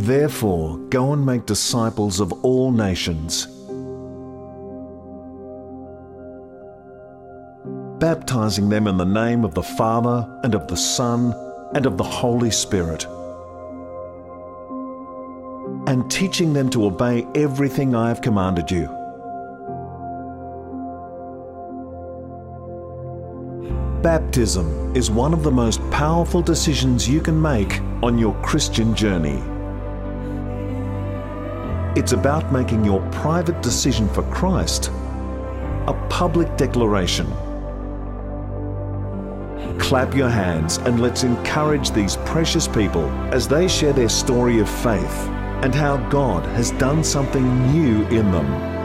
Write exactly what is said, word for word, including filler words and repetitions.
Therefore, go and make disciples of all nations, baptizing them in the name of the Father, and of the Son, and of the Holy Spirit, and teaching them to obey everything I have commanded you. Baptism is one of the most powerful decisions you can make on your Christian journey. It's about making your private decision for Christ a public declaration. Clap your hands and let's encourage these precious people as they share their story of faith and how God has done something new in them.